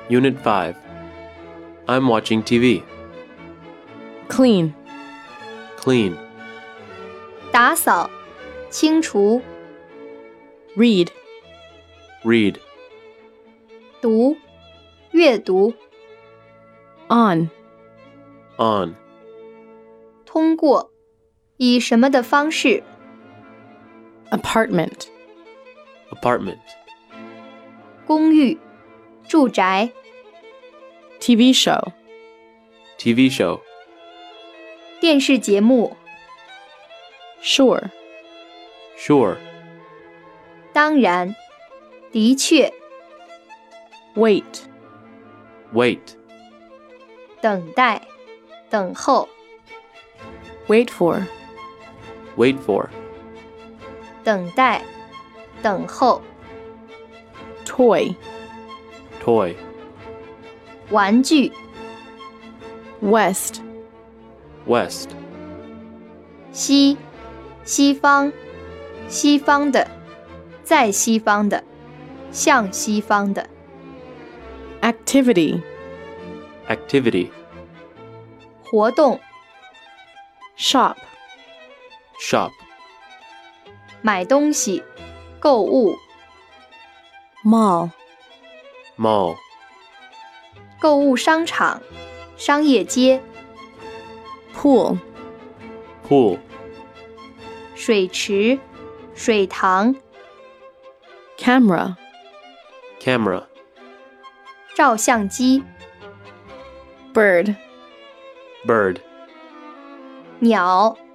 Unit 5. I'm watching TV. Clean. Clean. 打扫，清除， Read. Read. 读，阅读， On. On. 通过，以什么的方式， Apartment. Apartment. 公寓，住宅， TV show. TV show. 电视节目， Sure. Sure. 当然，的确， Wait. Wait. 等待，等候， Wait for. Wait for. 等待，等候， Toy. Toy. 玩具， West. West. 西，西方，西方的，在西方的，向西方的， Activity. Activity. 活动， Shop. Shop. 买东西，购物， Mall. Mall. 购物商场，商业街， Pool. Pool. 水池，水塘， Camera. Camera. 照相机， Bird. Bird. 鸟，